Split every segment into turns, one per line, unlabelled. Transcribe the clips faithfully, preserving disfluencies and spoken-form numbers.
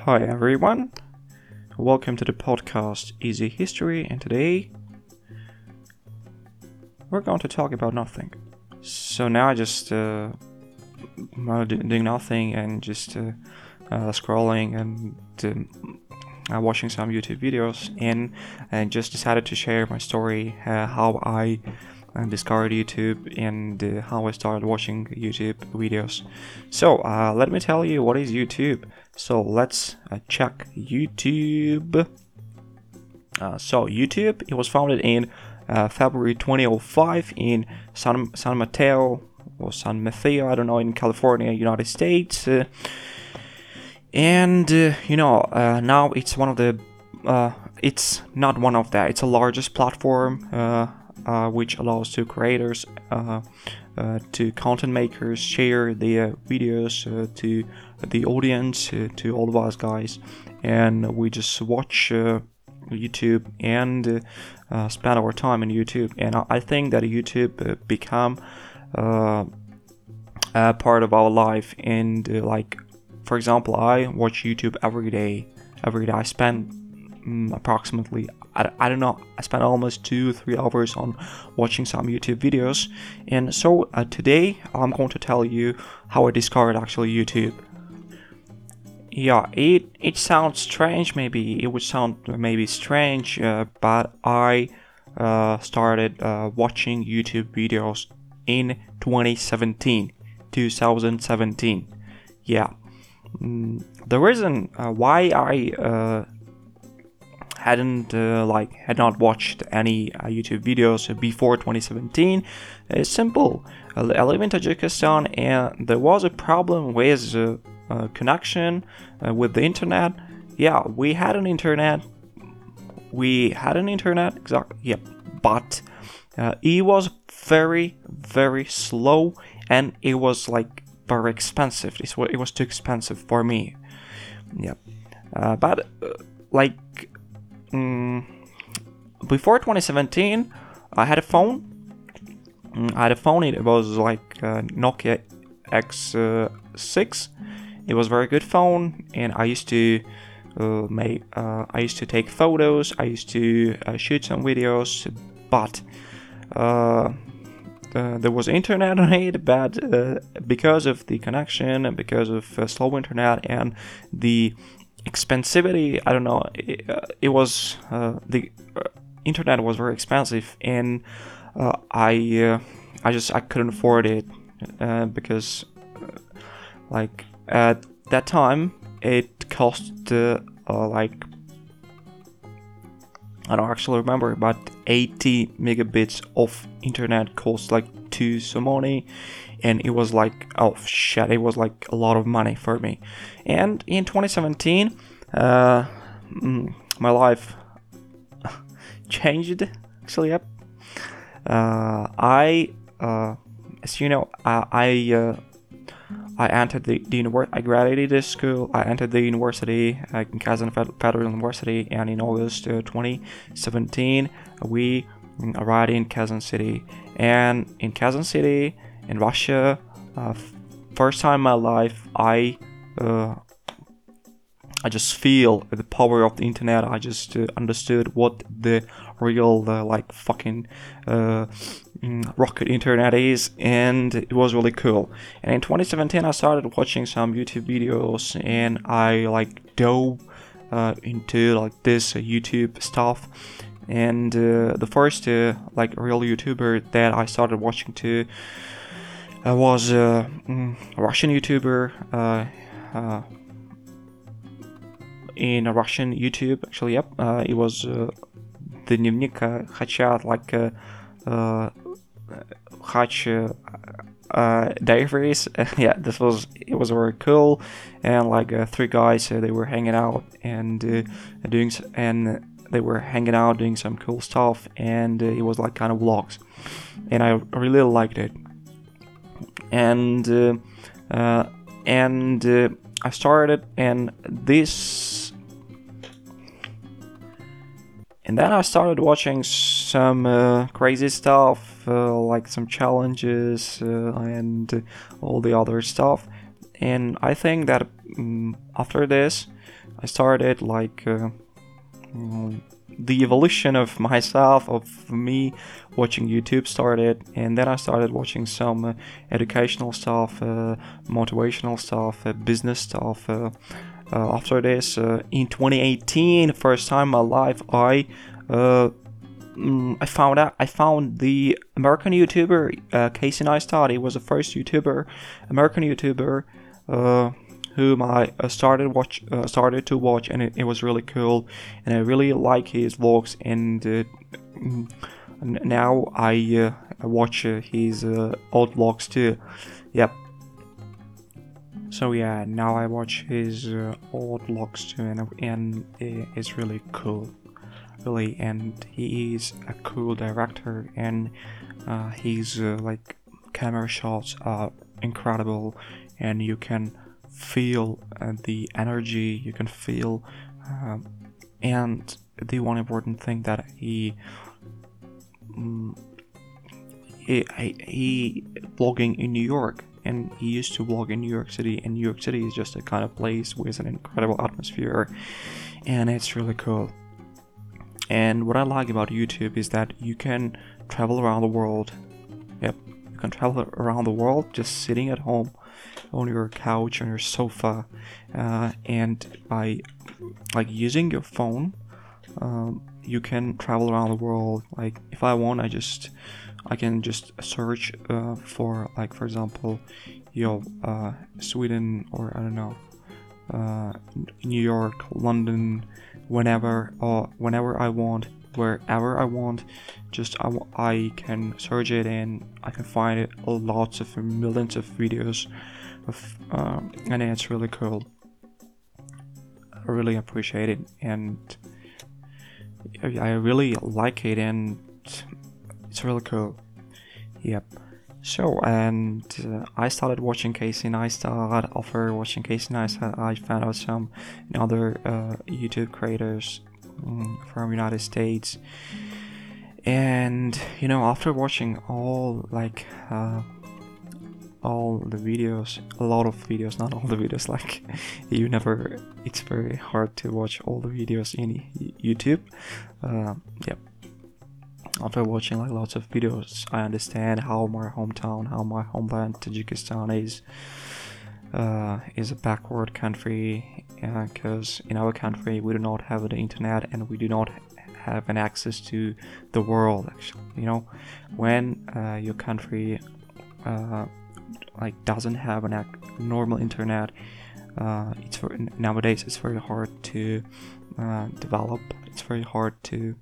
Hi everyone, welcome to the podcast Easy History, and today we're going to talk about nothing. So now I just uh, doing nothing and just uh, uh, scrolling and uh, watching some YouTube videos, and and just decided to share my story, uh, how I uh, discovered YouTube and uh, how I started watching YouTube videos. So uh, let me tell you what is YouTube. So let's uh, check YouTube. Uh, so YouTube, it was founded in uh, February twenty oh five in San San Mateo or San Mateo, I don't know, in California, United States. Uh, and uh, you know, uh, now it's one of the, uh, it's not one of that. It's the largest platform uh, uh, which allows to creators, uh, uh, to content makers share their videos uh, to the audience, uh, to all of us guys, and we just watch uh, YouTube and uh, spend our time on YouTube. And I think that YouTube uh, become uh, a part of our life. And uh, like, for example, I watch YouTube every day. Every day I spend um, approximately, I, I don't know, I spend almost two, three hours on watching some YouTube videos. And so uh, today I'm going to tell you how I discovered actually YouTube. Yeah, it it sounds strange. Maybe it would sound maybe strange, uh, but I uh, started uh, watching YouTube videos in twenty seventeen. Yeah, mm, the reason uh, why I uh, hadn't uh, like had not watched any uh, YouTube videos before twenty seventeen is simple. I live in Tajikistan, and there was a problem with uh, uh, connection uh, with the internet. Yeah, we had an internet. We had an internet, exactly. Yep, but uh, it was very, very slow, and it was like very expensive. It was, it was too expensive for me. Yep, uh, but uh, like. Mm, before twenty seventeen, I had a phone. Mm, I had a phone. It was like uh, Nokia X six. It was a very good phone, and I used to uh, make. Uh, I used to take photos. I used to uh, shoot some videos, but uh, uh, there was internet on it. But uh, because of the connection and because of uh, slow internet and the expensivity, I don't know, it, uh, it was uh, the uh, internet was very expensive, and uh, I uh, I just I couldn't afford it uh, because uh, like at that time it cost uh, uh, like I don't actually remember, but eighty megabits of internet cost like two some money, and it was like, oh shit, it was like a lot of money for me. And in twenty seventeen, uh, my life changed. Actually, yep. Uh, I, uh, as you know, I, I, uh, I entered the, the university. I graduated this school. I entered the university, uh, in Kazan Federal University, and in August uh, twenty seventeen, we arrived in Kazan City. And in Kazan City, in Russia, uh, first time in my life, I uh, I just feel the power of the internet. I just uh, understood what the real uh, like fucking uh, rocket internet is, and it was really cool. And in twenty seventeen, I started watching some YouTube videos, and I like dove uh, into like this uh, YouTube stuff. And uh, the first uh, like real YouTuber that I started watching to uh, was uh, mm, a Russian YouTuber uh, uh, in a Russian YouTube. Actually, yep, uh, it was uh, the Dnevnik Khacha, like uh, uh, Khach uh, uh, Diaries. Yeah, this was it was very cool, and like uh, three guys, uh, they were hanging out and uh, doing and. They were hanging out, doing some cool stuff, and uh, it was like kind of vlogs, and I really liked it. And uh, uh, and uh, I started, and this, and then I started watching some uh, crazy stuff, uh, like some challenges uh, and uh, all the other stuff. And I think that um, after this, I started like uh, mm, the evolution of myself, of me watching YouTube started, and then I started watching some uh, educational stuff, uh, motivational stuff, uh, business stuff. Uh, uh, after this, uh, in twenty eighteen, first time in my life, I uh, mm, I found out I found the American YouTuber uh, Casey Neistat. He was the first YouTuber, American YouTuber. Uh, whom I uh, started watch uh, started to watch, and it, it was really cool, and I really like his vlogs, and uh, now I uh, watch uh, his uh, old vlogs too. Yep. So yeah, now I watch his uh, old vlogs too, and and it's really cool, really, and he is a cool director, and uh, his uh, like camera shots are incredible, and you can feel uh, the energy, you can feel um, and the one important thing that he um, he, he vlogging in New York, and he used to vlog in New York City, and New York City is just a kind of place with an incredible atmosphere, and it's really cool. And what I like about YouTube is that you can travel around the world. Yep, you can travel around the world just sitting at home on your couch, on your sofa, uh, and by like using your phone, um, you can travel around the world. Like if I want, I just I can just search uh, for like, for example, yo uh, Sweden, or I don't know, uh, New York, London, whenever or whenever I want, wherever I want. Just I, I can search it, and I can find it lots of millions of videos. Of, um, and it's really cool. I really appreciate it, and I really like it, and it's really cool. Yep. So, and uh, I started watching Casey Neistat. After watching Casey Neistat, I found out some other uh, YouTube creators um, from United States. And you know, after watching all like uh, all the videos, a lot of videos, not all the videos, like you never, it's very hard to watch all the videos in YouTube. Uh, yep. After watching like lots of videos, I understand how my hometown, how my homeland Tajikistan is uh, is a backward country, because uh, in our country we do not have the internet, and we do not have an access to the world. Actually, you know, when uh, your country uh, like doesn't have an ac- normal internet, uh, it's for, nowadays it's very hard to uh, develop. It's very hard to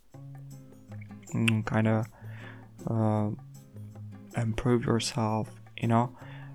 mm, kind of uh, improve yourself, you know.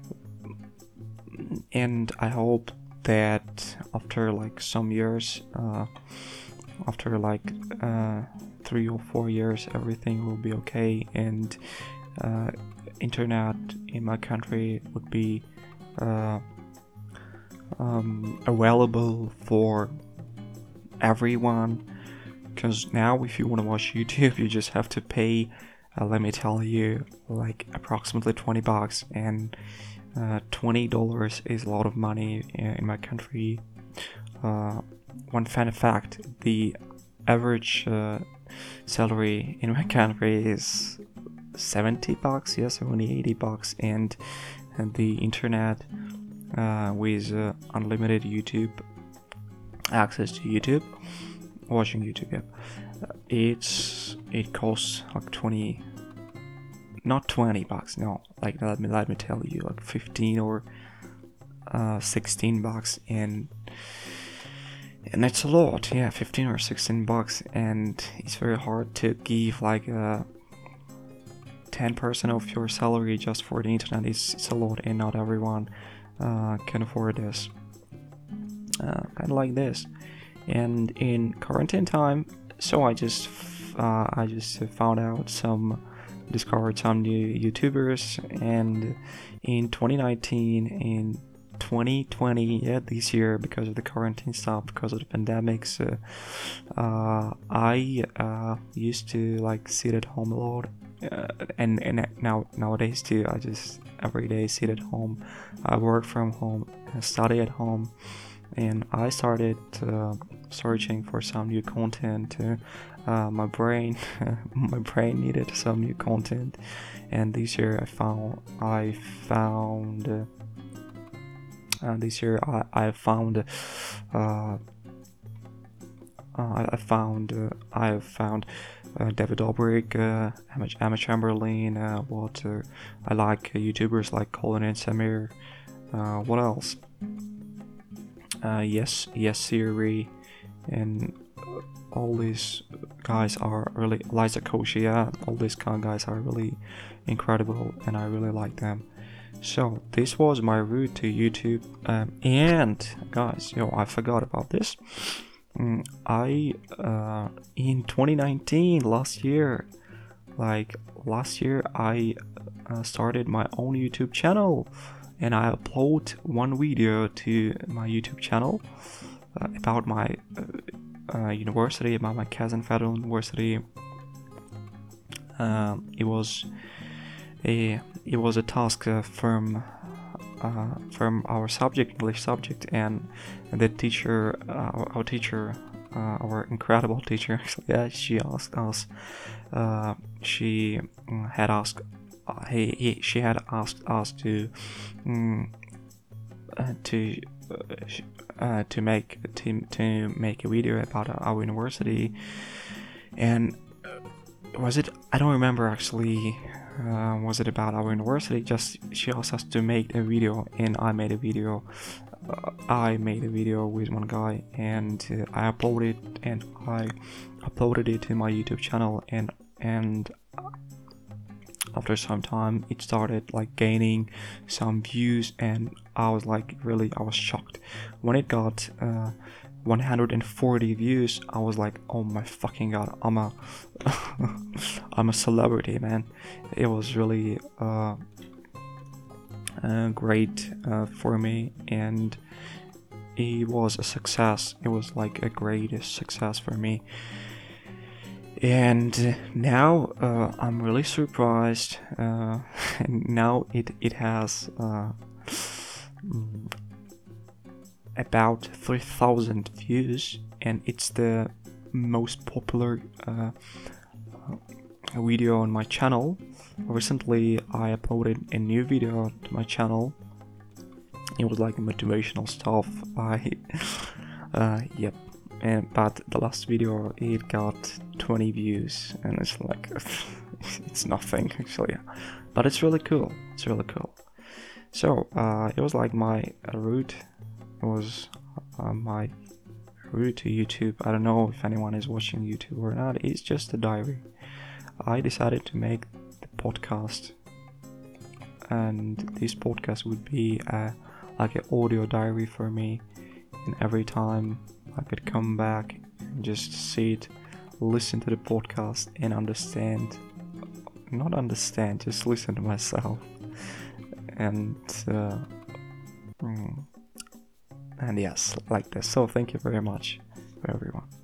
And I hope that after like some years, uh, after like uh, three or four years, everything will be okay, and uh, internet in my country would be uh, um, available for everyone. Because now if you want to watch YouTube, you just have to pay, uh, let me tell you, like approximately twenty bucks, and uh, twenty dollars is a lot of money in my country. Uh, one fun fact, the average uh, salary in my country is seventy bucks, yes, only eighty bucks, and, and the internet uh, with uh, unlimited YouTube access to YouTube, watching YouTube, yeah, uh, it's it costs like twenty, not twenty bucks, no, like let me let me tell you, like fifteen or uh, sixteen bucks, and and it's a lot, yeah, fifteen or sixteen bucks, and it's very hard to give like a ten percent of your salary just for the internet. It's, it's a lot, and not everyone uh, can afford this. Uh, kind of like this. And in quarantine time, so I just uh, I just found out some, discovered some new YouTubers, and in twenty nineteen, in twenty twenty, yeah, this year, because of the quarantine stuff, because of the pandemics, uh, uh, I uh, used to like sit at home a lot, uh, and and now nowadays too. I just every day sit at home, I work from home, I study at home, and I started uh, searching for some new content. Uh, uh, my brain, my brain needed some new content, and this year I found I found. Uh, uh, this year I I found. Uh, Uh, I found uh, I found uh, David Dobrik, uh, Emma, Emma Chamberlain. Uh, what uh, I like uh, YouTubers like Colin and Samir. Uh, what else? Uh, yes, yes, Siri, and all these guys are really Liza Koshy. Yeah, all these kind of guys are really incredible, and I really like them. So this was my route to YouTube. Um, and guys, yo, I forgot about this. I uh, in twenty nineteen, last year, like last year, I uh, started my own YouTube channel, and I upload one video to my YouTube channel uh, about my uh, uh, university, about my Kazan Federal University. Um, it was a it was a task uh, from. Uh, from our subject, English subject, and the teacher, uh, our teacher, uh, our incredible teacher, actually, yeah, she asked us, uh, she had asked, uh, he, he, she had asked us to, um, uh, to, uh, to make to, to make a video about our university, and was it? I don't remember actually. Uh, was it about our university? Just she asked us to make a video, and I made a video. Uh, I made a video with one guy, and uh, I uploaded and I uploaded it to my YouTube channel, and and after some time, it started like gaining some views, and I was like really, I was shocked when it got. Uh, one hundred forty views. I was like, oh my fucking god, I'm a I'm a celebrity, man. It was really uh, uh, great uh, for me, and it was a success. It was like a great success for me, and now uh, I'm really surprised. Uh, and now it it has uh, about three thousand views, and it's the most popular uh, video on my channel. Recently I uploaded a new video to my channel. It was like motivational stuff. I uh, yep, and but the last video it got twenty views, and it's like it's nothing actually, but it's really cool. It's really cool. So uh, it was like my uh, route. It was uh, my route to YouTube. I don't know if anyone is watching YouTube or not. It's just a diary. I decided to make the podcast, and this podcast would be uh, like an audio diary for me. And every time I could come back and just sit, listen to the podcast, and understand. Not understand, just listen to myself. And. Uh, mm, And yes, like this. So thank you very much for everyone.